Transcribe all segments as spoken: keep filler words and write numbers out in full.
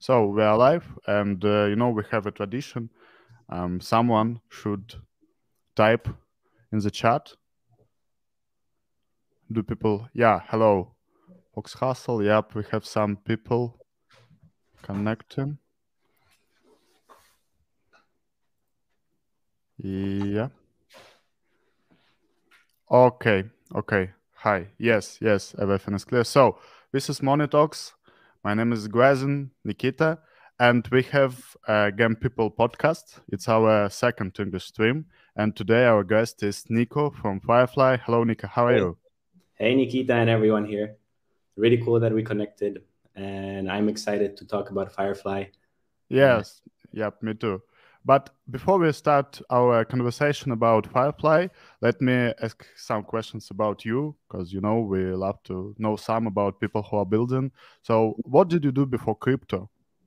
So we are live, and uh, you know we have a tradition. Um, someone should type in the chat. Do people? Yeah, hello, Fox Hustle. Yep, we have some people connecting. Yeah. Okay. Okay. Hi. Yes. Yes. Everything is clear. So this is Money Talks. My name is Gwazin Nikita, and we have a Game People podcast. It's our second English stream, and today our guest is Nico from Firefly. Hello, Nico. How are Hey, you? hey, Nikita and everyone here. Really cool that we connected, and I'm excited to talk about Firefly. Uh, Yes. Yep. Me too. But before we start our conversation about Firefly, let me ask some questions about you, because you know we love to know some about people who are building. So, what did you do before crypto?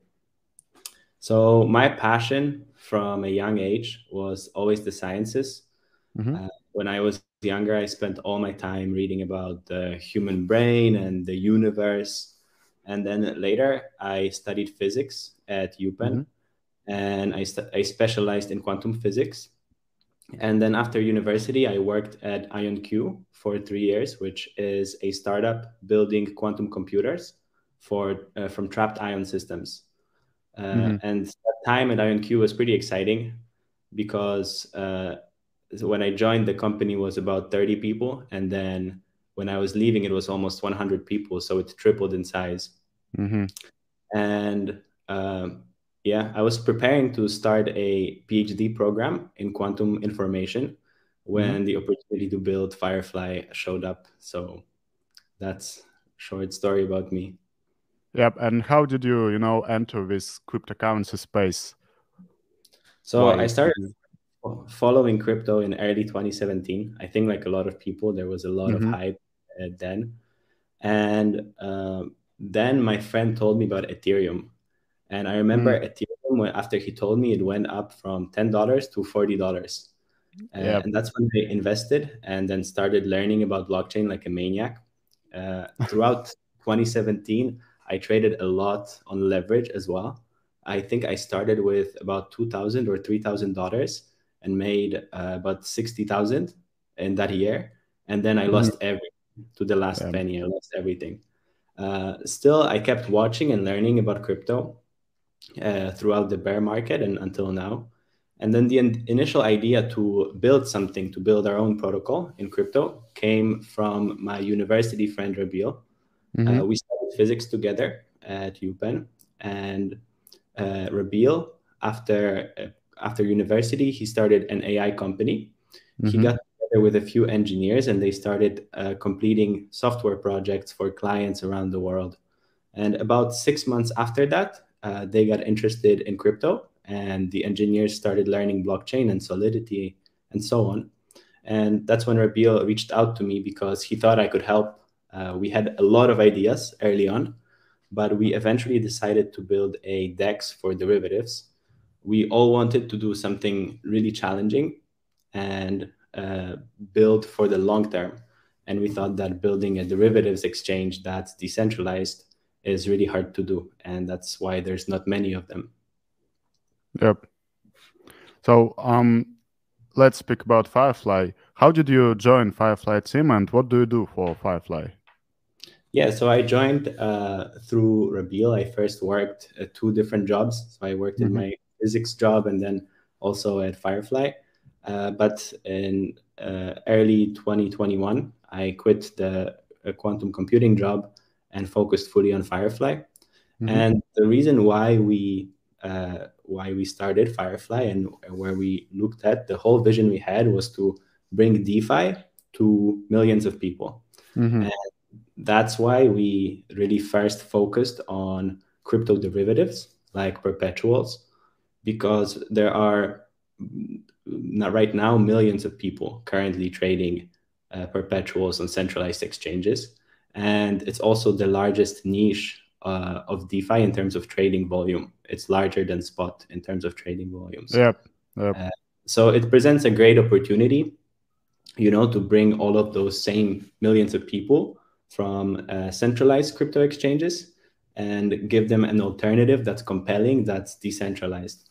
so my passion from a young age was always the sciences. Mm-hmm. Uh, when I was younger, I spent all my time reading about the human brain and the universe. And then later, I studied physics at Mm-hmm. UPenn, and I, st- I specialized in quantum physics. And then after university, I worked at IonQ for three years, which is a startup building quantum computers for uh, from trapped ion systems. Uh, Mm-hmm. and that time at IonQ was pretty exciting because uh, when I joined, the company was about thirty people, and then when I was leaving, it was almost one hundred people, so it tripled in size. Mm-hmm. And um, yeah, I was preparing to start a PhD program in quantum information Mm-hmm. when the opportunity to build Firefly showed up. So that's a short story about me. Yep. And how did you, you know, enter this cryptocurrency space? So I Why did started you? following crypto in early twenty seventeen. I think, like a lot of people, there was a lot of Mm-hmm. hype uh, then. And um, then my friend told me about Ethereum. And I remember Ethereum, when, after he told me, it went up from ten dollars to forty dollars. Uh, Yep. and that's when I invested and then started learning about blockchain like a maniac. Uh, throughout twenty seventeen, I traded a lot on leverage as well. I think I started with about two thousand or three thousand dollars and made uh, about sixty thousand in that year, and then I Mm-hmm. lost everything to the last Yep. penny. I lost everything. Uh, still, I kept watching and learning about crypto uh, throughout the bear market and until now. And then the in- initial idea to build something, to build our own protocol in crypto, came from my university friend Rabil. Mm-hmm. Uh, we studied physics together at UPenn, and uh, Rabil, after uh, after university, he started an A I company. He Mm-hmm. got together with a few engineers, and they started uh, completing software projects for clients around the world. And about six months after that, uh, they got interested in crypto, and the engineers started learning blockchain and Solidity and so on. And that's when Rabil reached out to me because he thought I could help. Uh, we had a lot of ideas early on, but we eventually decided to build a DEX for derivatives. We all wanted to do something really challenging and uh, build for the long term. And we thought that building a derivatives exchange that's decentralized is really hard to do. And that's why there's not many of them. Yep. So, um, let's speak about Firefly. How did you join Firefly team, and what do you do for Firefly? Yeah, so I joined uh, through Rabil. I first worked at two different jobs. So I worked in Mm-hmm. my physics job and then also at Firefly. Uh, but in uh, early twenty twenty-one, I quit the uh, quantum computing job and focused fully on Firefly. Mm-hmm. And the reason why we uh, why we started Firefly and where we looked at the whole vision we had was to bring DeFi to millions of people. Mm-hmm. That's why we really first focused on crypto derivatives like perpetuals, because there are not right now millions of people currently trading uh, perpetuals on centralized exchanges. And it's also the largest niche uh, of DeFi in terms of trading volume. It's larger than spot in terms of trading volumes. Yep. Yep. Uh, so it presents a great opportunity, you know, to bring all of those same millions of people from uh, centralized crypto exchanges and give them an alternative that's compelling, that's decentralized.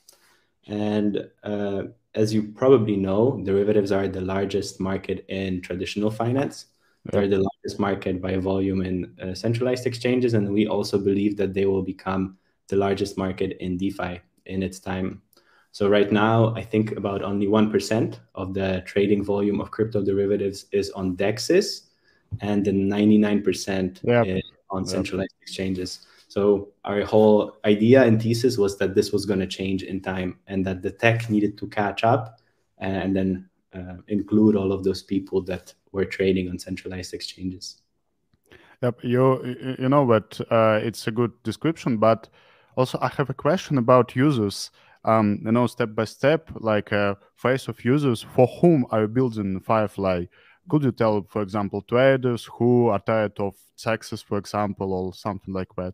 And uh, as you probably know, derivatives are the largest market in traditional finance. Yep. They're the largest market by volume in uh, centralized exchanges. And we also believe that they will become the largest market in DeFi in its time. So right now, I think about only one percent of the trading volume of crypto derivatives is on D E Xs, and the ninety-nine percent yep. is on centralized yep. exchanges. So our whole idea and thesis was that this was going to change in time, and that the tech needed to catch up and then uh, include all of those people that were trading on centralized exchanges. Yep, you you know what? Uh, it's a good description, but also I have a question about users. Um, you know, step by step, like a phase of users. For whom are you building Firefly? Could you tell, for example, traders who are tired of taxes, for example, or something like that?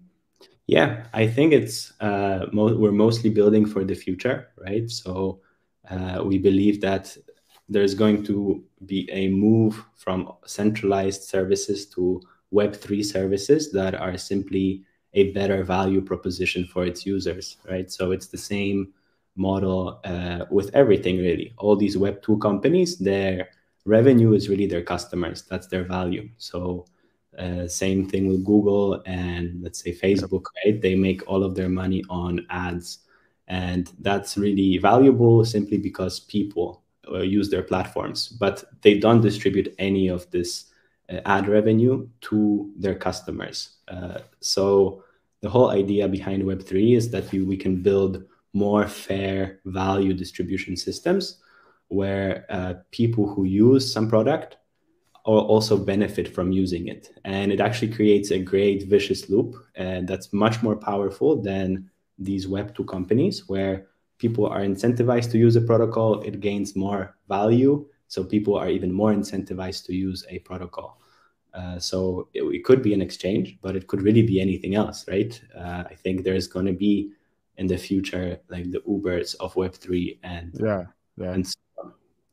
Yeah, I think it's uh, mo we're mostly building for the future, right? So uh, we believe that there's going to be a move from centralized services to Web three services that are simply a better value proposition for its users, right? So it's the same model uh, with everything, really. All these Web two companies, their revenue is really their customers. That's their value. So uh, same thing with Google and let's say Facebook, yep. right? They make all of their money on ads. And that's really valuable simply because people uh, use their platforms, but they don't distribute any of this uh, ad revenue to their customers. Uh, so the whole idea behind Web three is that we, we can build more fair value distribution systems where uh, people who use some product also benefit from using it. And it actually creates a great vicious loop, and that's much more powerful than these Web two companies where people are incentivized to use a protocol, it gains more value. So people are even more incentivized to use a protocol. Uh, so it, it could be an exchange, but it could really be anything else, right? Uh, I think there's going to be in the future like the Ubers of Web three and, yeah, yeah. and so on.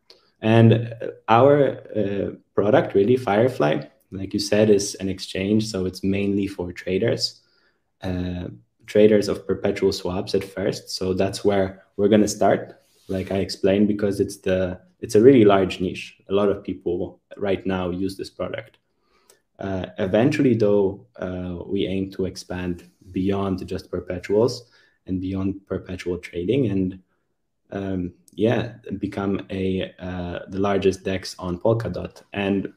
And our uh, product, really, Firefly, like you said, is an exchange. So it's mainly for traders, uh, traders of perpetual swaps at first. So that's where we're going to start, like I explained, because it's the it's a really large niche. A lot of people right now use this product. Uh, eventually, though, uh, we aim to expand beyond just perpetuals and beyond perpetual trading, and um, yeah, become a uh, the largest D E X on Polkadot. And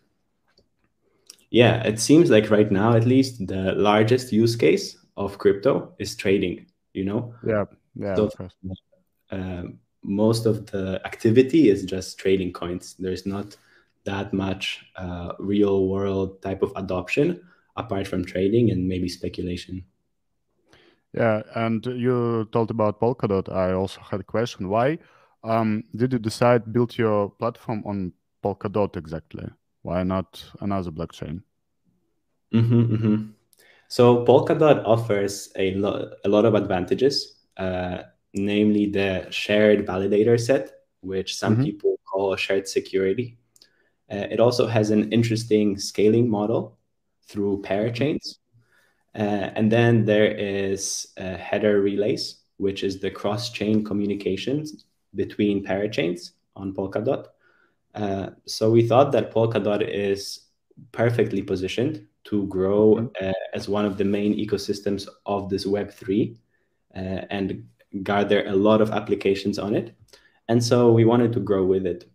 yeah, it seems like right now, at least, the largest use case of crypto is trading. You know. Yeah. Yeah. So, uh, most of the activity is just trading coins. There's not that much uh, real world type of adoption apart from trading and maybe speculation. Yeah, and you told about Polkadot. I also had a question. Why um, did you decide build your platform on Polkadot exactly? Why not another blockchain? Mm-hmm, mm-hmm. So Polkadot offers a, lo a lot of advantages, uh, namely the shared validator set, which some mm-hmm. people call shared security. Uh, it also has an interesting scaling model through parachains. Uh, and then there is uh, header relays, which is the cross-chain communications between parachains on Polkadot. Uh, so we thought that Polkadot is perfectly positioned to grow mm-hmm. uh, as one of the main ecosystems of this Web three uh, and gather a lot of applications on it. And so we wanted to grow with it.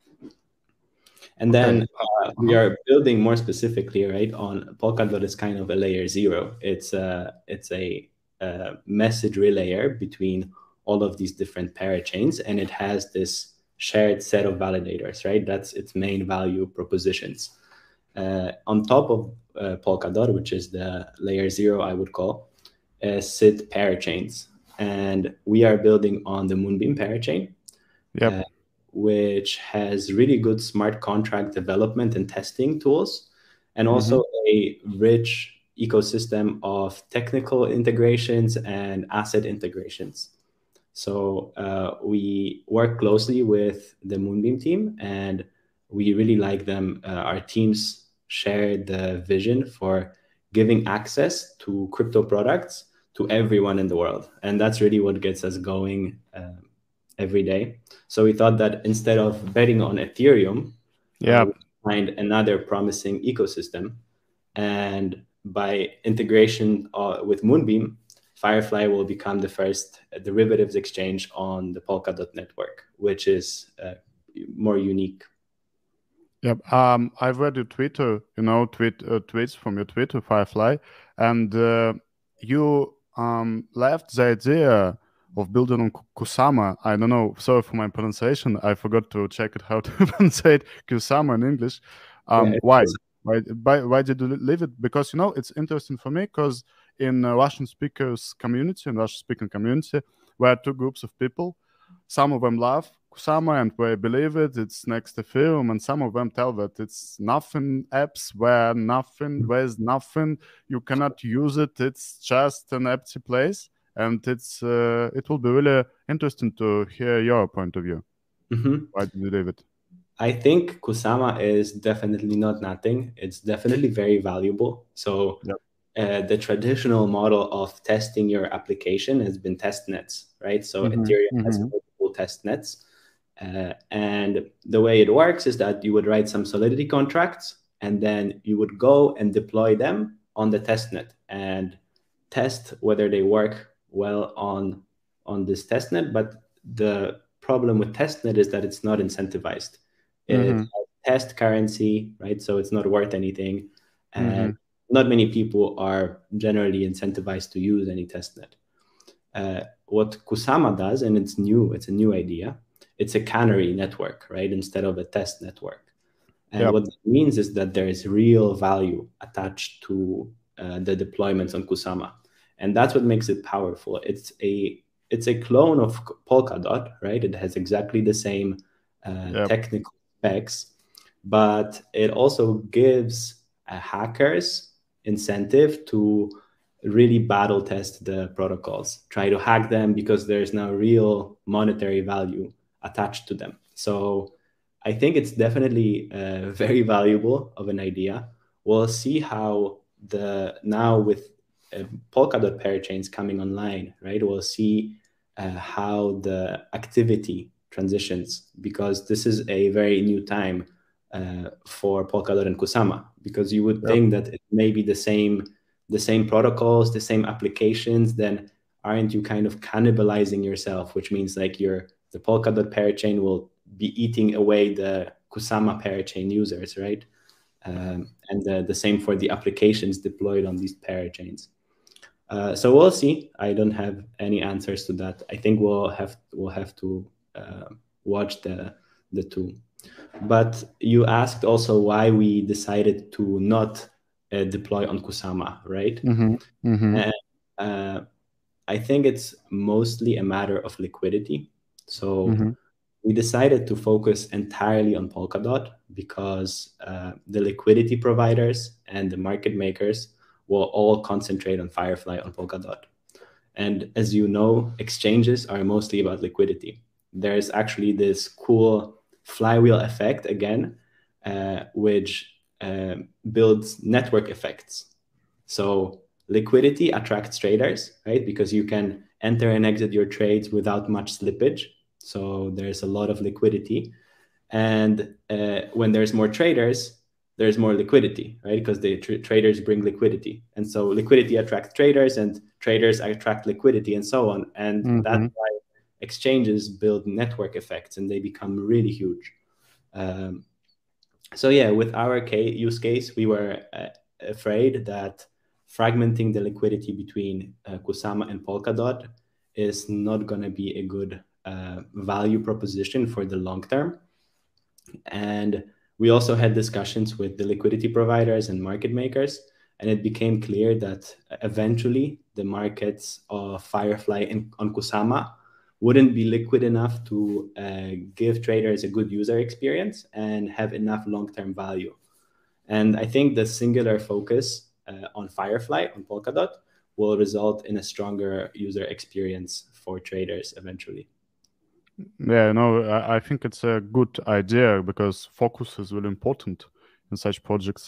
And then okay. uh, we are building more specifically, right, on Polkadot is kind of a layer zero. It's a, it's a, a message relayer between all of these different parachains, and it has this shared set of validators, right? That's its main value propositions. Uh, on top of uh, Polkadot, which is the layer zero, I would call, uh, sit parachains. And we are building on the Moonbeam parachain. Yep. Uh, which has really good smart contract development and testing tools, and also mm-hmm. a rich ecosystem of technical integrations and asset integrations. So uh, we work closely with the Moonbeam team, and we really like them. Uh, our teams share the vision for giving access to crypto products to everyone in the world. And that's really what gets us going uh, every day. So we thought that instead of betting on Ethereum, Yeah. uh, we find another promising ecosystem. And by integration uh, with Moonbeam, Firefly will become the first derivatives exchange on the Polkadot network, which is uh, more unique. Yep. Um, I've read your Twitter, you know, tweet uh, tweets from your Twitter, Firefly, and uh, you um left the idea of building on Kusama. I don't know. Sorry for my pronunciation. I forgot to check it how to pronounce Kusama in English. Um, Yeah, why? Why? Why? Why did you leave it? Because you know it's interesting for me because in uh, Russian speakers community, in Russian speaking community, we are two groups of people. Some of them love Kusama and they believe it, it's next Ethereum, and some of them tell that it's nothing apps where nothing, there's nothing, you cannot use it, it's just an empty place. And it's uh, it will be really interesting to hear your point of view. Mm-hmm. Why did you leave it? I think Kusama is definitely not nothing. It's definitely very valuable. So Yep. uh, the traditional model of testing your application has been test nets, right? So Mhm, Ethereum has mhm. multiple test nets. Uh, and the way it works is that you would write some Solidity contracts, and then you would go and deploy them on the testnet and test whether they work well on, on this testnet. But the problem with testnet is that it's not incentivized. It Mhm, has test currency, right? So it's not worth anything. And mhm. not many people are generally incentivized to use any testnet. Uh, what Kusama does, and it's new, it's a new idea, it's a canary network, right? Instead of a test network. And Yep. what that means is that there is real value attached to uh, the deployments on Kusama. And that's what makes it powerful. It's a it's a clone of Polkadot, right? It has exactly the same uh, Yep. technical specs, but it also gives uh, hackers incentive to really battle test the protocols, try to hack them because there's now real monetary value attached to them. So I think it's definitely uh, very valuable of an idea. We'll see how the now with uh, Polkadot parachains coming online, right? We'll see uh, how the activity transitions, because this is a very new time uh, for Polkadot and Kusama, because you would Yep. think that it may be the same the same protocols, the same applications, then aren't you kind of cannibalizing yourself? Which means like your the Polkadot parachain will be eating away the Kusama parachain users, right? Um, and the, the same for the applications deployed on these parachains. Uh, so we'll see. I don't have any answers to that. I think we'll have we'll have to uh, watch the the two. But you asked also why we decided to not uh, deploy on Kusama, right? Mhm, mhm. And uh, I think it's mostly a matter of liquidity. So Mhm. we decided to focus entirely on Polkadot because uh, the liquidity providers and the market makers will all concentrate on Firefly on Polkadot. And as you know, exchanges are mostly about liquidity. There's actually this cool flywheel effect again, uh, which uh, builds network effects. So liquidity attracts traders, right? Because you can enter and exit your trades without much slippage. So there's a lot of liquidity. And uh, when there's more traders, there's more liquidity, right? Because the tr- traders bring liquidity. And so liquidity attracts traders and traders attract liquidity and so on. And Mhm. that's why exchanges build network effects and they become really huge. Um, so yeah, with our case, use case, we were uh, afraid that fragmenting the liquidity between uh, Kusama and Polkadot is not going to be a good uh, value proposition for the long term. And we also had discussions with the liquidity providers and market makers, and it became clear that eventually the markets of Firefly and on Kusama wouldn't be liquid enough to uh, give traders a good user experience and have enough long-term value. And I think the singular focus uh, on Firefly, on Polkadot, will result in a stronger user experience for traders eventually. Yeah, no, I, I think it's a good idea because focus is really important in such projects.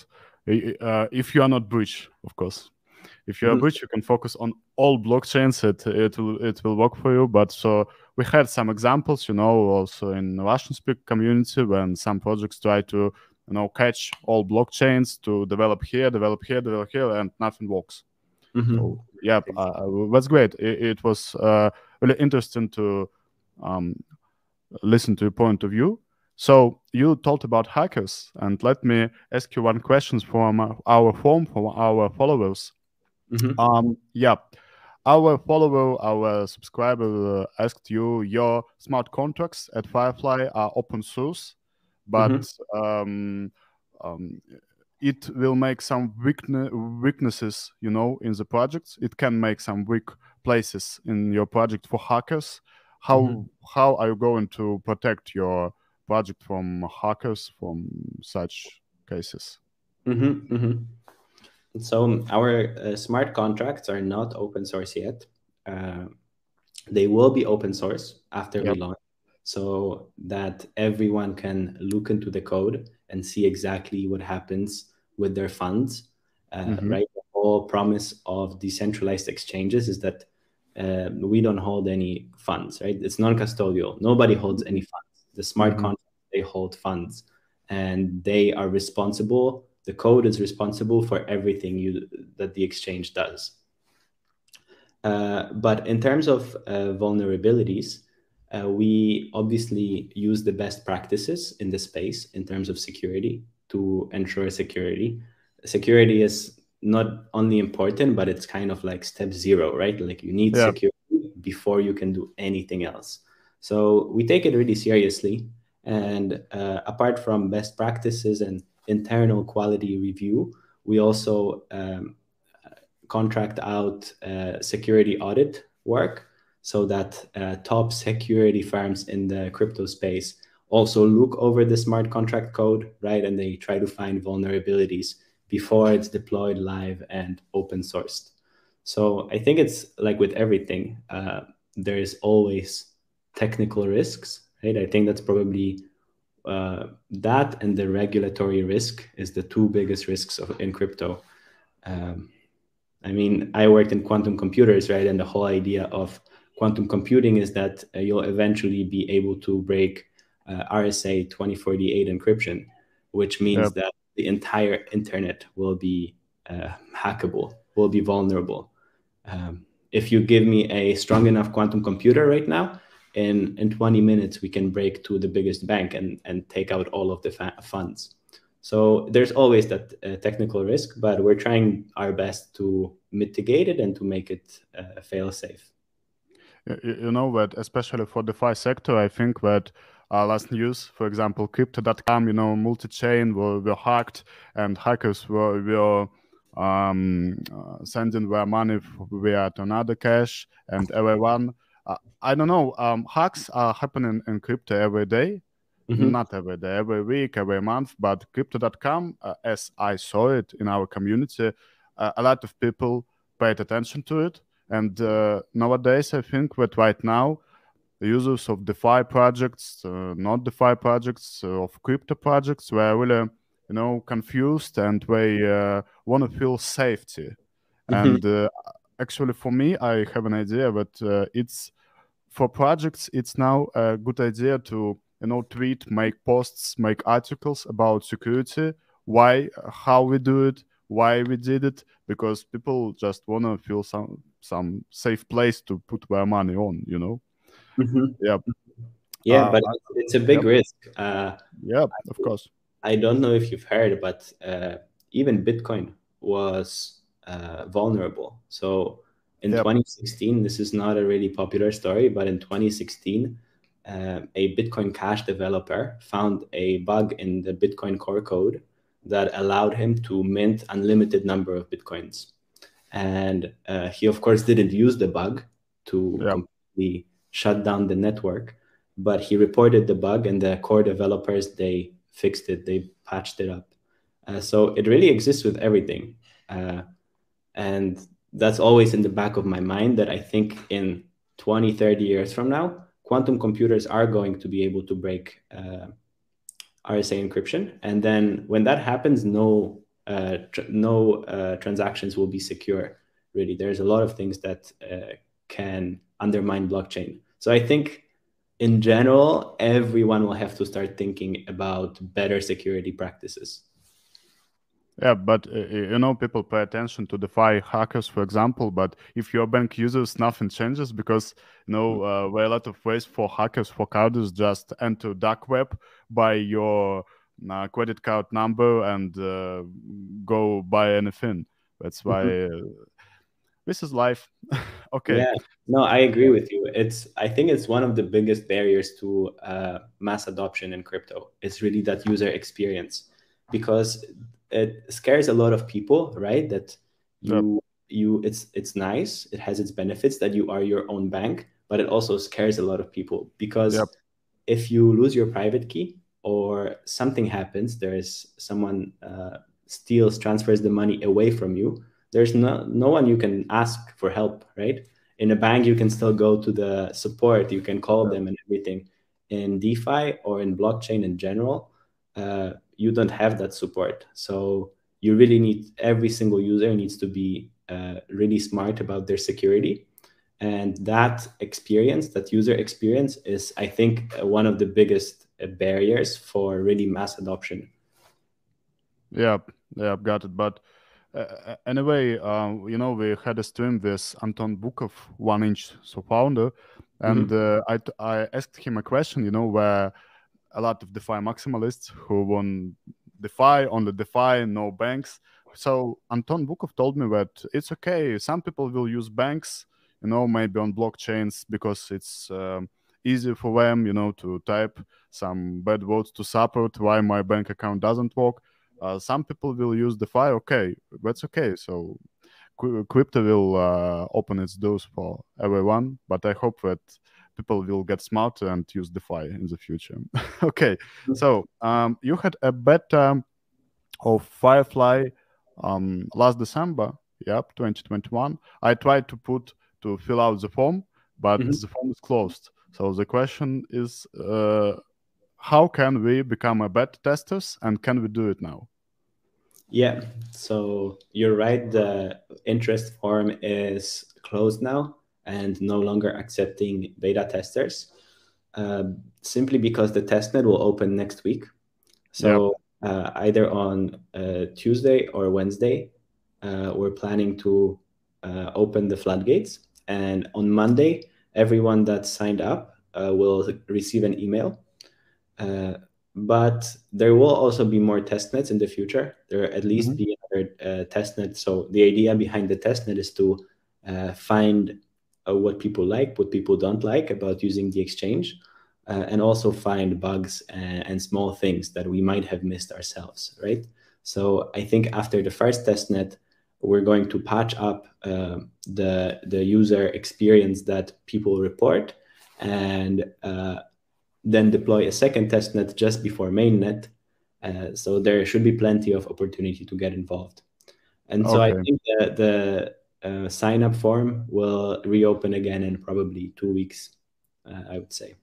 uh, if you are not breach, of course. If you are Mhm. breach, you can focus on all blockchains. It it will it will work for you. But so we had some examples, you know, also in Russian speak community when some projects try to you know catch all blockchains to develop here, develop here, develop here, and nothing works. Mhm. So yeah, uh, that's great. It, it was uh, really interesting to um, listen to your point of view. So you talked about hackers, and let me ask you one question from uh, our form, from our followers. Mhm. Um, yeah, our follower, our subscriber uh, asked you, your smart contracts at Firefly are open source, Mhm. but um, um, it will make some weakne- weaknesses, you know, in the projects. It can make some weak places in your project for hackers. How Mhm. how are you going to protect your project from hackers from such cases? Mhm. Mhm. So our uh, smart contracts are not open source yet. Uh, they will be open source after we Yep. launch, so that everyone can look into the code and see exactly what happens with their funds. Uh, Mm-hmm. right, the whole promise of decentralized exchanges is that uh, we don't hold any funds. Right, it's non-custodial. Nobody holds any funds. The smart Mm-hmm. contracts, they hold funds, and they are responsible. The code is responsible for everything you that the exchange does. Uh, but in terms of uh, vulnerabilities, uh, we obviously use the best practices in the space in terms of security to ensure security. Security is not only important, but it's kind of like step zero, right? Like you need Yeah. security before you can do anything else. So we take it really seriously. And uh, apart from best practices and internal quality review, we also um, contract out uh, security audit work so that uh, top security firms in the crypto space also look over the smart contract code, right? And they try to find vulnerabilities before it's deployed live and open sourced. So I think it's like with everything, uh, there is always technical risks, right? I think that's probably uh, that and the regulatory risk is the two biggest risks of, in crypto. Um, I mean, I worked in quantum computers, right? And the whole idea of quantum computing is that uh, you'll eventually be able to break uh, R S A twenty forty-eight encryption, which Yeah. means that the entire internet will be uh, hackable, will be vulnerable. Um, if you give me a strong enough quantum computer right now, in, in twenty minutes, we can break to the biggest bank and, and take out all of the fa- funds. So there's always that uh, technical risk, but we're trying our best to mitigate it and to make it uh, fail safe. Y- y- You know that especially for the DeFi sector, I think that uh, last news, for example, crypto dot com, you know, multi-chain were, were hacked and hackers were, were um, uh, sending their money f- via Tornado Cash and everyone. Uh, I don't know. Um, hacks are happening in crypto every day, Mm-hmm. not every day, every week, every month, but crypto dot com, uh, as I saw it in our community, uh, a lot of people paid attention to it. And uh, nowadays, I think that right now, the users of DeFi projects, uh, not DeFi projects, uh, of crypto projects, were really, you know, confused and they uh, want to feel safety. Mm-hmm. And uh, actually, for me, I have an idea that uh, it's for projects, it's now a good idea to you know tweet, make posts, make articles about security, why, how we do it, why we did it, because people just wanna feel some some safe place to put their money on. You know. Mm-hmm. Yeah. Yeah, Uh, but I, it's, it's a big yep. risk. Uh, Yeah. Of course. I don't know if you've heard, but uh, even Bitcoin was uh, vulnerable. So in Yep. twenty sixteen, this is not a really popular story, but in twenty sixteen, uh, a Bitcoin Cash developer found a bug in the Bitcoin core code that allowed him to mint unlimited number of Bitcoins. And uh, he, of course, didn't use the bug to Yep. completely shut down the network, but he reported the bug, and the core developers, they fixed it, they patched it up. Uh, so it really exists with everything. Uh, and that's always in the back of my mind that I think in twenty, thirty years from now, quantum computers are going to be able to break uh, R S A encryption. And then when that happens, no uh, tr- no uh, transactions will be secure. Really, there's a lot of things that uh, can undermine blockchain. So I think in general, everyone will have to start thinking about better security practices. Yeah, but uh, you know, people pay attention to DeFi hackers, for example. But if your bank uses, nothing changes because you know uh, there are a lot of ways for hackers, for carders, just enter dark web, buy your uh, credit card number, and uh, go buy anything. That's Mhm. why uh, this is life. Okay. Yeah, no, I agree with you. It's I think it's one of the biggest barriers to uh, mass adoption in crypto. It's really that user experience because it scares a lot of people, right? That Yep. you you it's it's nice, it has its benefits that you are your own bank, but it also scares a lot of people Yep. because if you lose your private key or something happens, there is someone uh, steals, transfers the money away from you. There's no no one you can ask for help, right? In a bank, you can still go to the support, you can call Yep. them and everything. In DeFi or in blockchain in general, uh, you don't have that support. So you really need every single user needs to be uh, really smart about their security. And that experience, that user experience, is, I think, uh, one of the biggest uh, barriers for really mass adoption. Yep. Yep. Got it. But uh, uh, anyway, um, you know, we had a stream with Anton Bukov, one inch so founder, and Mhm. uh, I t- I asked him a question. You know, where a lot of DeFi maximalists who want DeFi, only DeFi, no banks. So Anton Bukov told me that it's okay. Some people will use banks, you know, maybe on blockchains because it's um, easy for them, you know, to type some bad words to support why my bank account doesn't work. Uh, some people will use DeFi. Okay, that's okay. So crypto will uh, open its doors for everyone, but I hope that people will get smarter and use DeFi in the future. Okay, so um, you had a beta of Firefly um, last December, yep, twenty twenty-one. I tried to put to fill out the form, but Mhm. the form is closed. So the question is, uh, how can we become a beta testers, and can we do it now? Yeah, so you're right. The interest form is closed now and no longer accepting beta testers, uh, simply because the testnet will open next week. Yep. So uh, either on uh, Tuesday or Wednesday, uh, we're planning to uh, open the floodgates. And on Monday, everyone that signed up uh, will receive an email. Uh, but there will also be more testnets in the future. There will at least Mhm. be another uh, testnet. So the idea behind the testnet is to uh, find uh, what people like, what people don't like about using the exchange, uh, and also find bugs and, and small things that we might have missed ourselves, right? So I think after the first testnet, we're going to patch up uh, the the user experience that people report, and uh, then deploy a second testnet just before mainnet. Uh, so there should be plenty of opportunity to get involved. And so I Okay. think the, the uh, sign up form will reopen again in probably two weeks, uh, I would say.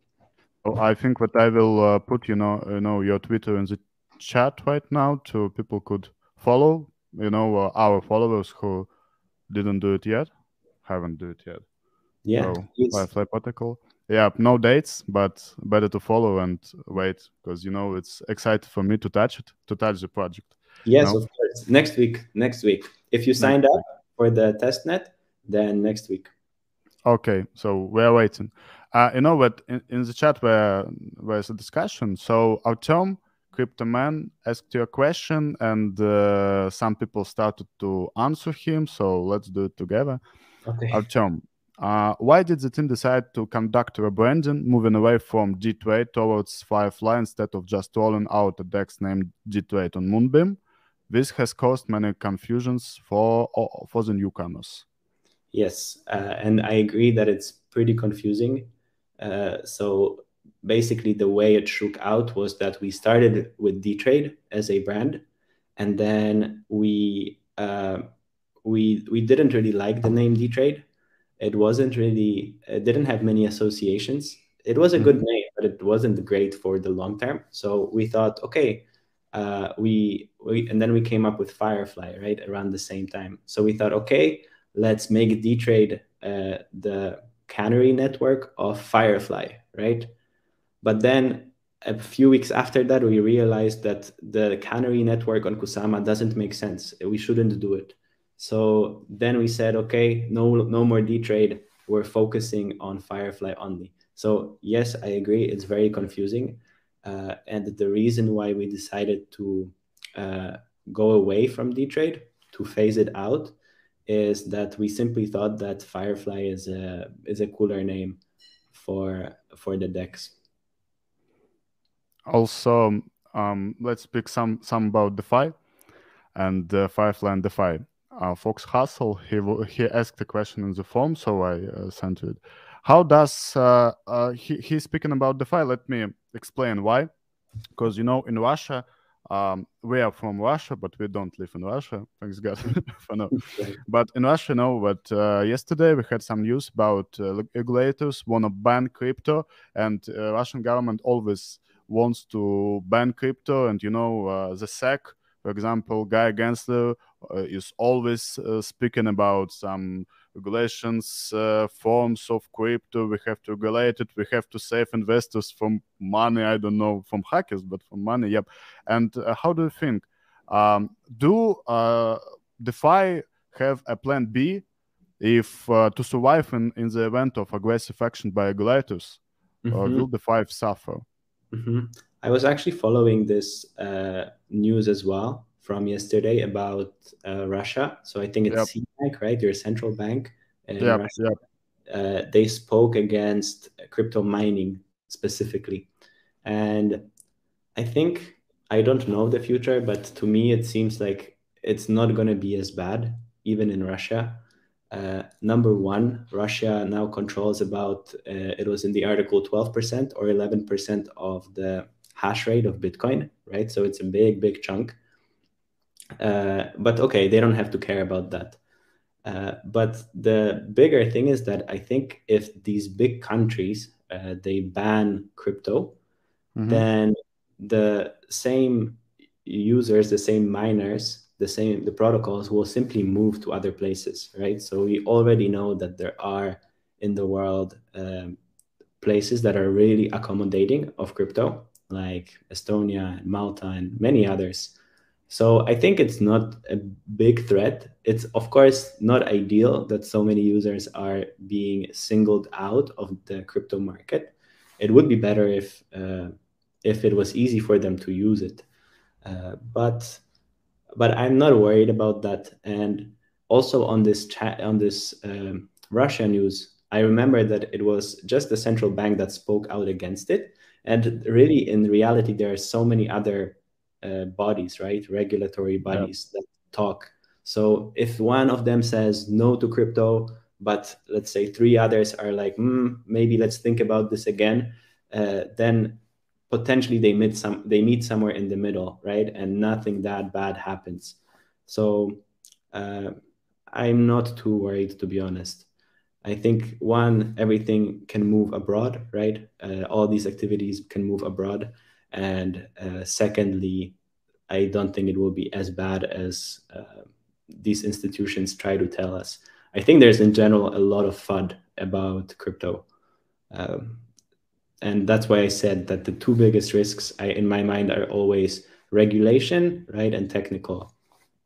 So I think that I will uh, put you know you know your Twitter in the chat right now, so people could follow. You know uh, our followers who didn't do it yet, haven't do it yet. Yeah, So please. Firefly Protocol. Yeah, no dates, but better to follow and wait because you know it's exciting for me to touch it, to touch the project. You Yes, know, of course. Next week. Next week. If you next signed up week. for the testnet, then next week. Okay, so we're waiting. Uh, you know what? In, in the chat where there's a discussion. So Artem, Crypto Man, asked you a question, and uh, some people started to answer him. So let's do it together. Okay. Artem, uh, why did the team decide to conduct rebranding, moving away from D Trade towards Firefly instead of just rolling out a DEX named D Trade on Moonbeam? This has caused many confusions for for the newcomers. Yes, uh, and I agree that it's pretty confusing. Uh, so basically, the way it shook out was that we started with D-Trade as a brand, and then we uh, we we didn't really like the name D-Trade. It wasn't really, it didn't have many associations. It was a good Mhm. name, but it wasn't great for the long term. So we thought, okay, uh, we, we and then we came up with Firefly, right, around the same time. So we thought, okay, let's make D-Trade uh, the canary network of Firefly, right? But then a few weeks after that, we realized that the canary network on Kusama doesn't make sense. We shouldn't do it. So then we said, okay, no, no more D-Trade. We're focusing on Firefly only. So yes, I agree. It's very confusing. Uh, and the reason why we decided to uh, go away from D-Trade, to phase it out, is that we simply thought that Firefly is a is a cooler name for for the DEX. Also, um, let's speak some some about DeFi and uh, Firefly and DeFi. Uh, Fox Hustle, he he asked a question in the form, so I uh, sent it. How does uh, uh, he he's speaking about DeFi? Let me explain why. Because you know, in Russia, um, we are from Russia, but we don't live in Russia. Thanks God for now. But in Russia, you know, but uh, yesterday we had some news about uh, regulators want to ban crypto, and uh, Russian government always wants to ban crypto. And you know, uh, the S E C, for example, Guy Gensler uh, is always uh, speaking about some regulations, uh, forms of crypto. We have to regulate it. We have to save investors from money. I don't know, from hackers, but from money. Yep. And uh, how do you think? Um, do uh, DeFi have a plan B if uh, to survive in, in the event of aggressive action by regulators? Mm-hmm. Or will DeFi suffer? Mm-hmm. I was actually following this uh, news as well from yesterday about uh, Russia. So I think it's Yep. C B A C, right? Your central bank in Yep, Russia. yep. Uh, they spoke against crypto mining specifically. And I think, I don't know the future, but to me, it seems like it's not going to be as bad, even in Russia. Uh, number one, Russia now controls about, uh, it was in the article twelve percent or eleven percent of the hash rate of Bitcoin, right? So it's a big, big chunk. Uh, but okay, they don't have to care about that. Uh, but the bigger thing is that I think if these big countries, uh, they ban crypto, mm-hmm. then the same users, the same miners, the same the protocols will simply move to other places, right? So we already know that there are in the world um, places that are really accommodating of crypto, like Estonia and Malta and many others. So I think it's not a big threat. It's of course not ideal that so many users are being singled out of the crypto market. It would be better if uh, if it was easy for them to use it. Uh, but but I'm not worried about that. And also on this chat on this um, Russia news, I remember that it was just the central bank that spoke out against it. And really, in reality, there are so many other uh, bodies, right? Regulatory bodies yeah. that talk. So if one of them says no to crypto, but let's say three others are like, mm, maybe let's think about this again, uh, then potentially they meet some they meet somewhere in the middle, right? And nothing that bad happens. So uh, I'm not too worried, to be honest. I think one, everything can move abroad, right? Uh, all these activities can move abroad. And uh, secondly, I don't think it will be as bad as uh, these institutions try to tell us. I think there's in general a lot of F U D about crypto. Um, and that's why I said that the two biggest risks I, in my mind are always regulation, right, and technical.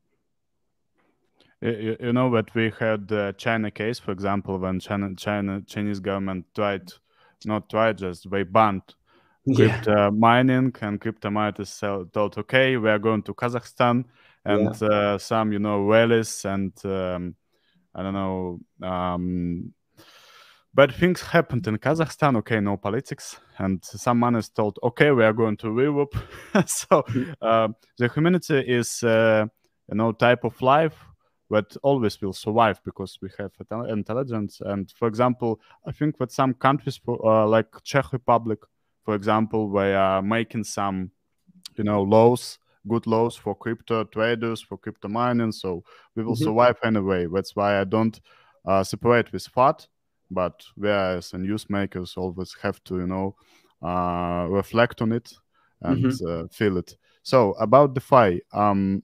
You, you know that we had the China case, for example, when China, China Chinese government tried, not tried, just they banned crypto yeah. mining, and crypto miners thought, okay, we are going to Kazakhstan, and yeah. uh, some, you know, rallies and um, I don't know, um, bad things happened in Kazakhstan. Okay, no politics, and some miners thought, okay, we are going to Europe. So uh, the humanity is, uh, you know, type of life that always will survive because we have intelligence. And for example, I think that some countries, uh, like Czech Republic, for example, they are making some, you know, laws, good laws for crypto traders, for crypto mining. So we will mm-hmm. survive anyway. That's why I don't uh, separate with F U D. But whereas the newsmakers always have to, you know, uh, reflect on it and mm-hmm. uh, feel it. So about DeFi, um,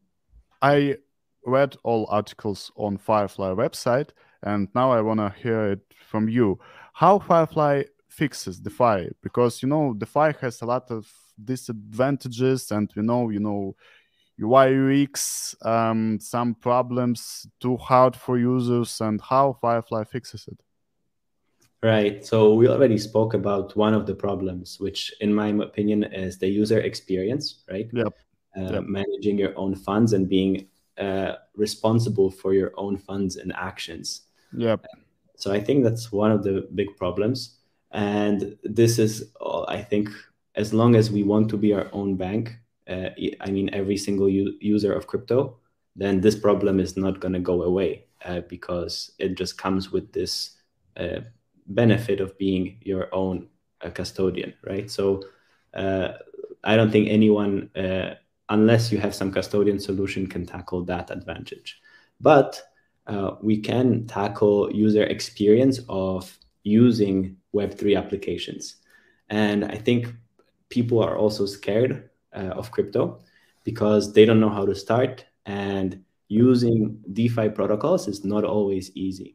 I read all articles on Firefly website, and now I want to hear it from you. How Firefly fixes DeFi? Because you know DeFi has a lot of disadvantages, and we know you know U I U X, um, some problems, too hard for users, and how Firefly fixes it. Right. So we already spoke about one of the problems, which in my opinion is the user experience, right? Yep. Uh, Yep. Managing your own funds and being uh, responsible for your own funds and actions. Yep. So I think that's one of the big problems. And this is, uh, I think, as long as we want to be our own bank, uh, I mean, every single u- user of crypto, then this problem is not going to go away uh, because it just comes with this uh, benefit of being your own uh, custodian, right? So uh, I don't think anyone, uh, unless you have some custodian solution, can tackle that advantage. But uh, we can tackle user experience of using Web three applications. And I think people are also scared uh, of crypto because they don't know how to start. And using DeFi protocols is not always easy.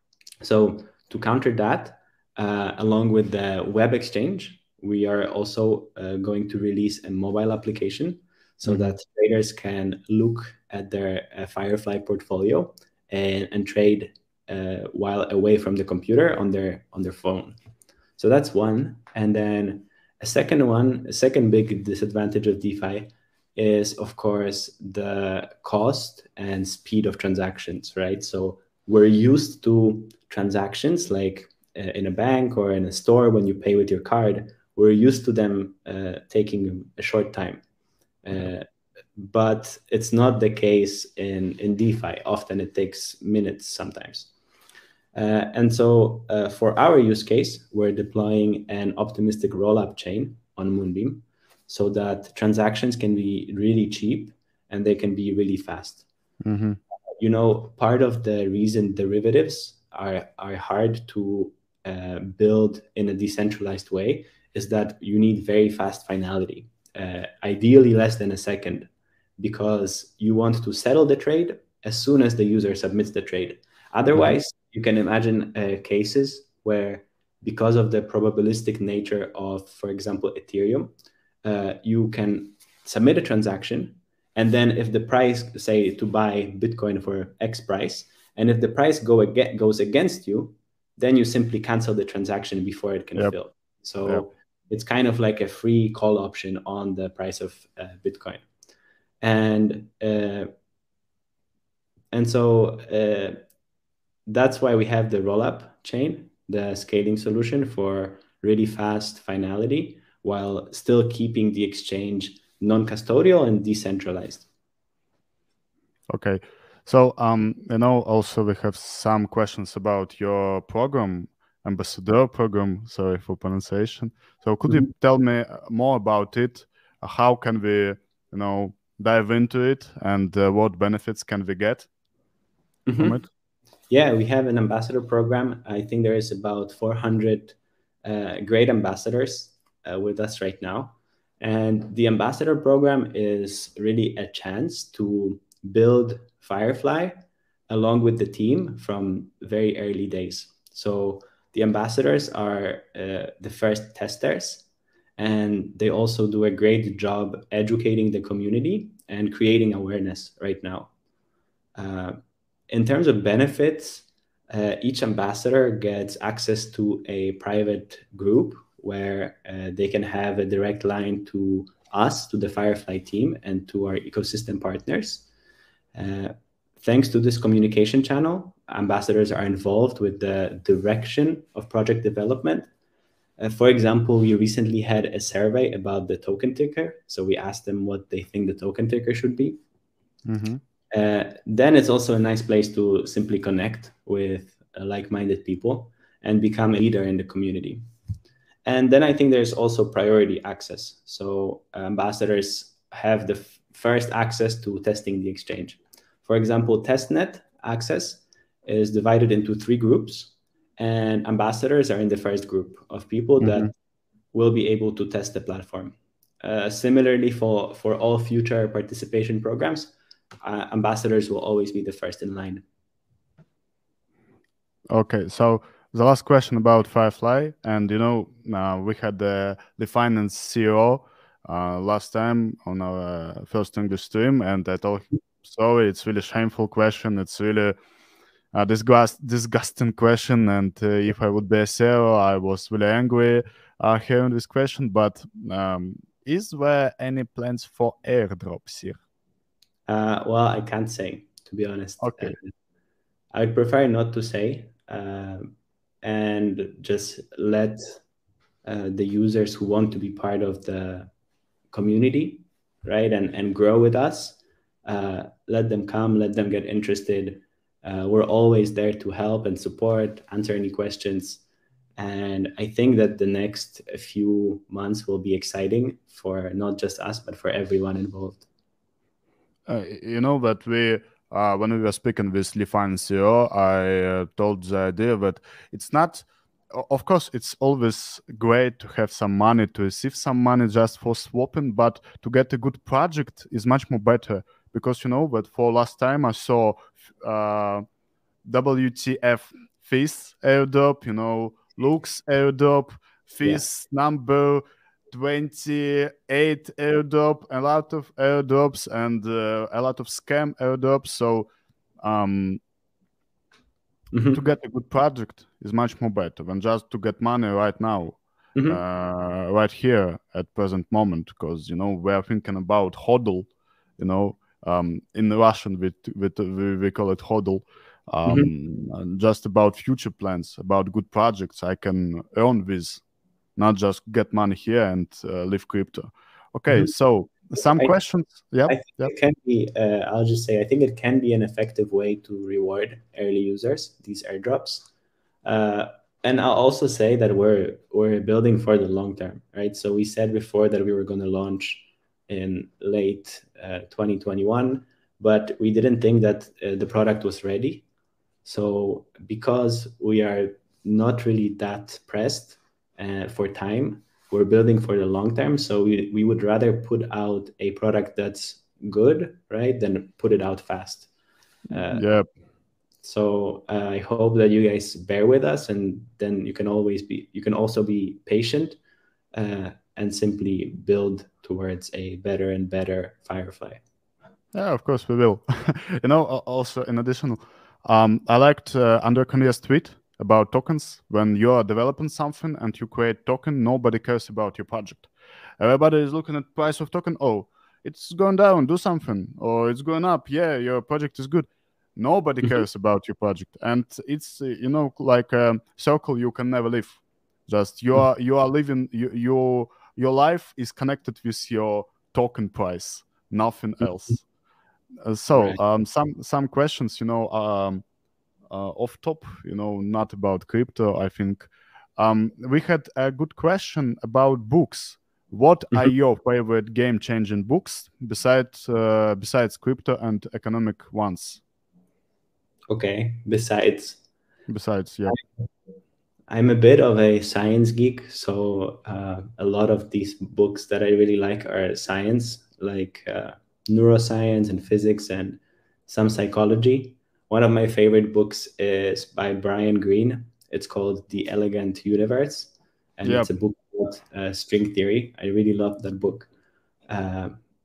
So to counter that, uh, along with the web exchange, we are also uh, going to release a mobile application so mm-hmm. that traders can look at their uh, Firefly portfolio and, and trade uh, while away from the computer on their on their phone. So that's one. And then a second one, a second big disadvantage of DeFi is, of course, the cost and speed of transactions, right? So we're used to transactions like uh, in a bank or in a store when you pay with your card. We're used to them uh, taking a short time. Uh, but it's not the case in, in DeFi. Often it takes minutes sometimes. Uh, and so uh, for our use case, we're deploying an optimistic rollup chain on Moonbeam so that transactions can be really cheap and they can be really fast. Mm-hmm. You know, part of the reason derivatives are, are hard to uh, build in a decentralized way is that you need very fast finality, uh, ideally less than a second, because you want to settle the trade as soon as the user submits the trade. Otherwise, mm-hmm. you can imagine uh, cases where, because of the probabilistic nature of, for example, Ethereum, uh, you can submit a transaction, and then if the price, say, to buy Bitcoin for X price, and if the price go ag- goes against you, then you simply cancel the transaction before it can yep. fill. So yep. it's kind of like a free call option on the price of uh, Bitcoin. And uh, and so uh, that's why we have the rollup chain, the scaling solution for really fast finality, while still keeping the exchange non-custodial and decentralized. Okay. So, um, you know, also we have some questions about your program, Ambassador program, sorry for pronunciation. So could mm-hmm. you tell me more about it? How can we, you know, dive into it, and uh, what benefits can we get mm-hmm. from it? Yeah, we have an ambassador program. I think there is about four hundred uh, great ambassadors uh, with us right now. And the ambassador program is really a chance to build Firefly along with the team from very early days. So the ambassadors are uh, the first testers, and they also do a great job educating the community and creating awareness right now. Uh, in terms of benefits, uh, each ambassador gets access to a private group where uh, they can have a direct line to us, to the Firefly team, and to our ecosystem partners. Uh, thanks to this communication channel, ambassadors are involved with the direction of project development. Uh, for example, we recently had a survey about the token ticker. So we asked them what they think the token ticker should be. Mm-hmm. Uh, then it's also a nice place to simply connect with uh, like-minded people and become a leader in the community. And then I think there's also priority access. So uh, ambassadors have the f- first access to testing the exchange. For example, testnet access is divided into three groups, and ambassadors are in the first group of people mm-hmm. that will be able to test the platform. uh, similarly for for all future participation programs, uh, ambassadors will always be the first in line. Okay, so the last question about Firefly, and you know, uh, we had the the finance C E O uh, last time on our first English stream, and I told him, sorry, it's really shameful question. It's really a disgust disgusting question, and uh, if I would be a C E O, I was really angry uh, hearing this question. But um, is there any plans for airdrops here? Uh, well, I can't say, to be honest. Okay. Uh, I'd prefer not to say, uh, and just let uh, the users who want to be part of the community, right, and and grow with us. Uh, let them come, let them get interested. Uh, we're always there to help and support, answer any questions. And I think that the next few months will be exciting for not just us, but for everyone involved. Uh, you know that we, uh, when we were speaking with Lifan C E O, I uh, told the idea that it's not, o- of course, it's always great to have some money, to receive some money just for swapping, but to get a good project is much more better because you know that for last time I saw uh, W T F Fizz airdrop, you know, Lux airdrop, Fizz number twenty-eight airdrop, a lot of airdrops and uh, a lot of scam airdrops. So um, Mhm. to get a good project is much more better than just to get money right now, Mhm. uh, right here at present moment. Because you know we are thinking about hodl, you know, um, in Russian we, we, we, we call it hodl. Mhm. Um, and just about future plans, about good projects I can earn with, not just get money here and uh, leave crypto. Okay, Mhm. so some I, questions. Yeah, I think yeah. it can be, uh, I'll just say, I think it can be an effective way to reward early users, these airdrops. Uh, and I'll also say that we're we're building for the long term, right? So we said before that we were going to launch in late uh, twenty twenty-one, but we didn't think that uh, the product was ready. So because we are not really that pressed uh, for time, we're building for the long term. So we, we would rather put out a product that's good, right, than put it out fast. Uh, Yeah. so uh, I hope that you guys bear with us, and then you can always be you can also be patient uh, and simply build towards a better and better Firefly. Yeah, of course we will. You know, al- also in addition, um, I liked uh, Andre Cornelius' tweet about tokens. When you are developing something and you create token, nobody cares about your project. Everybody is looking at price of token. Oh, it's going down, do something, or it's going up. Yeah, your project is good. Nobody Mhm. cares about your project, and it's uh, you know like a circle you can never leave. Just you are you are living you, your your life is connected with your token price, nothing else. Uh, so Right. um, some some questions, you know, um, uh, off top, you know, not about crypto. I think um, we had a good question about books. What are Mhm. your favorite game-changing books besides uh, besides crypto and economic ones? Okay. Besides, Besides, yeah, I'm a bit of a science geek, so uh, a lot of these books that I really like are science, like uh, neuroscience and physics and some psychology. One of my favorite books is by Brian Greene. It's called The Elegant Universe, and yeah, it's a book about uh, string theory. I really love that book. Uh,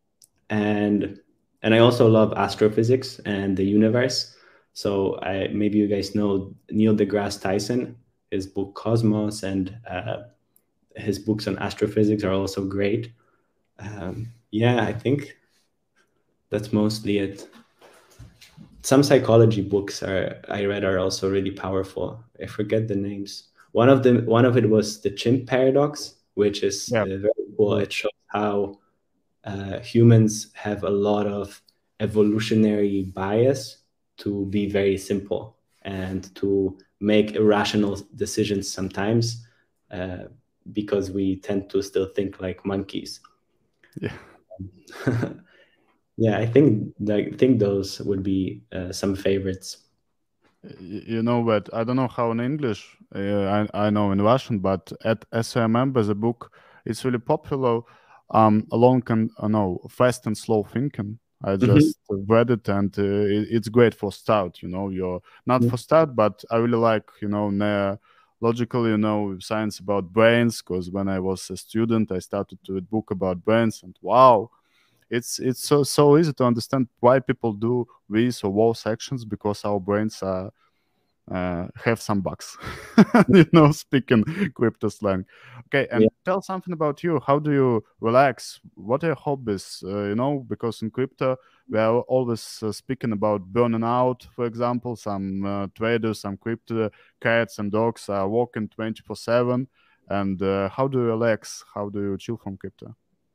and and I also love astrophysics and the universe. So I maybe you guys know Neil deGrasse Tyson. His book Cosmos and uh, his books on astrophysics are also great. Um, yeah, I think that's mostly it. Some psychology books are I read are also really powerful. I forget the names. One of them, one of it was the Chimp Paradox, which is yeah, uh, very cool. It shows how uh, humans have a lot of evolutionary bias to be very simple and to make irrational decisions sometimes uh, because we tend to still think like monkeys. yeah. Yeah, I think I think those would be uh, some favorites. Y- You know what? I don't know how in English. Uh, I I know in Russian, but at as I remember, the book is really popular. um, along can uh, no fast and slow thinking. I Hmm. just read it, and uh, it, it's great for start. You know, you're not for start, but I really like you know ne- logical, you know, science about brains. Because when I was a student, I started to read book about brains, and wow, it's it's so so easy to understand why people do these or those actions because our brains are uh, have some bugs, you know, speaking crypto slang. Okay, Yeah. and tell something about you. How do you relax? What are your hobbies? Uh, you know, because in crypto we are always uh, speaking about burning out. For example, some uh, traders, some crypto cats and dogs are walking twenty four seven. And uh, how do you relax? How do you chill from crypto?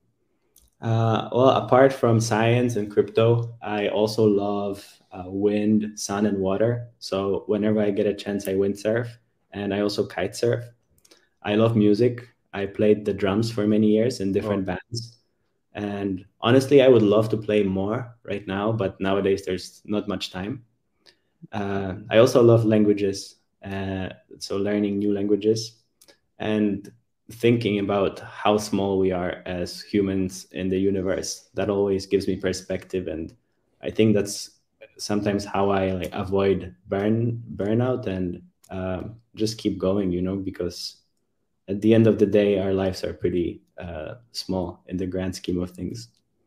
Uh, well, apart from science and crypto, I also love uh, wind, sun, and water. So whenever I get a chance, I windsurf, and I also kite surf. I love music. I played the drums for many years in Oh, different bands. And honestly, I would love to play more right now, but nowadays there's not much time. Uh, I also love languages, uh, so learning new languages and thinking about how small we are as humans in the universe. That always gives me perspective, and I think that's sometimes how I like avoid burn burnout and um, just keep going. You know, because at the end of the day, our lives are pretty uh, small in the grand scheme of things.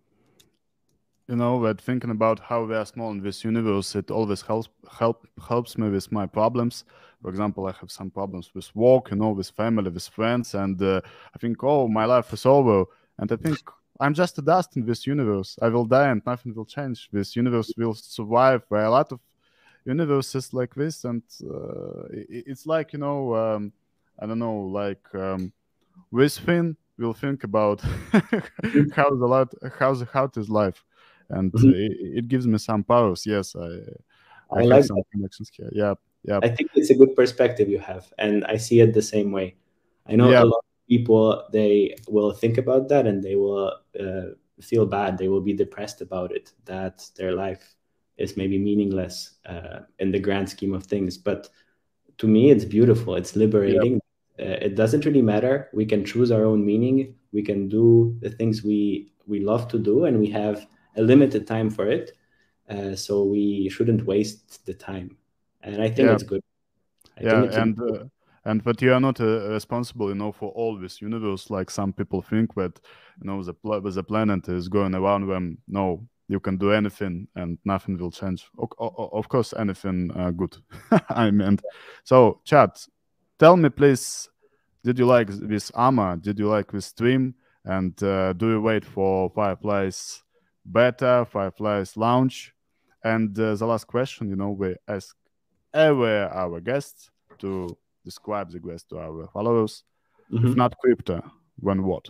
you know, but thinking about how we are small in this universe, it always helps help helps me with my problems. For example, I have some problems with work, you know, with family, with friends, and uh, I think, oh, my life is over, and I think I'm just a dust in this universe. I will die, and nothing will change. This universe will survive. There are a lot of universes like this, and uh, it, it's like you know, um, I don't know, like um, this thing will think about how the lot, how the how is life, and uh, Mhm. it, it gives me some powers. Yes, I I I have like some that. connections here. Yeah, yeah, I think it's a good perspective you have, and I see it the same way. I know yeah, a lot of people, they will think about that and they will uh, feel bad. They will be depressed about it, that their life is maybe meaningless uh, in the grand scheme of things. But to me, it's beautiful. It's yeah, liberating. Uh, it doesn't really matter. We can choose our own meaning. We can do the things we we love to do, and we have a limited time for it. Uh, so we shouldn't waste the time. And I think yeah, it's good. I yeah, think it's a and uh, and but you are not uh, responsible, you know, for all this universe. Like some people think that you know the pla- the planet is going around them. No, you can do anything and nothing will change. O- o- of course, anything uh, good. I meant. So, chat, tell me please. Did you like this armor? Did you like this stream? And uh, do you wait for Firefly's beta, Firefly's launch? And uh, the last question, you know, we ask every our guests to describe the quest to our followers. If Mhm. not crypto, when what?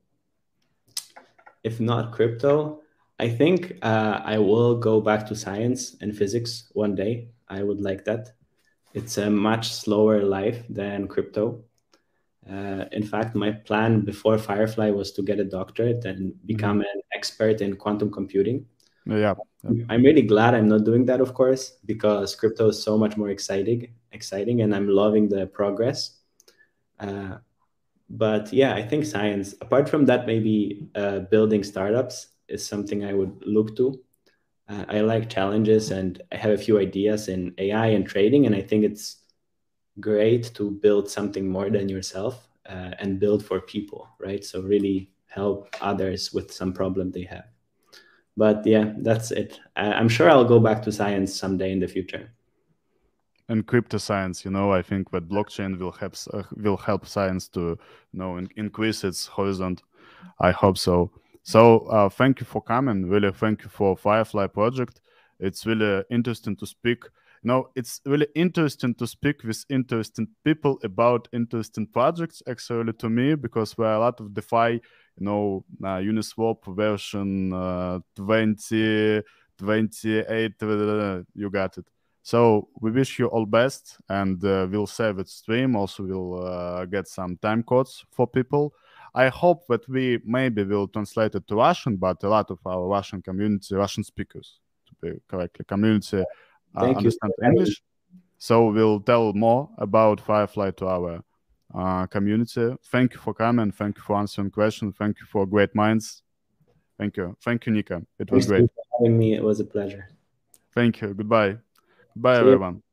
If not crypto, I think uh, I will go back to science and physics one day. I would like that. It's a much slower life than crypto. Uh, in fact, my plan before Firefly was to get a doctorate and Hmm. become an expert in quantum computing. Yeah, yeah, I'm really glad I'm not doing that, of course, because crypto is so much more exciting, exciting, and I'm loving the progress. Uh, but yeah, I think science. Apart from that, maybe uh, building startups is something I would look to. Uh, I like challenges, and I have a few ideas in A I and trading, and I think it's great to build something more than yourself uh, and build for people, right? So really help others with some problem they have. But yeah, that's it. I- I'm sure I'll go back to science someday in the future. and crypto science. You know, I think that blockchain will help s- uh, will help science to you know in- increase its horizon. I hope so. So uh, thank you for coming. Really, thank you for Firefly project. It's really interesting to speak. You know, it's really interesting to speak with interesting people about interesting projects. Actually, to me, because there are a lot of DeFi, you know, uh, Uniswap version uh, twenty twenty-eight. Uh, you got it. So we wish you all best, and uh, we'll save it stream. Also, we'll uh, get some time codes for people. I hope that we maybe will translate it to Russian, but a lot of our Russian community, Russian speakers, to be correctly, community uh, Thank you understand for having me. English. So we'll tell more about Firefly to our uh, community. Thank you for coming. Thank you for answering questions. Thank you for great minds. Thank you. Thank you, Nika. It was Thanks great. for having me. It was a pleasure. Thank you. Goodbye. Goodbye, See you. everyone.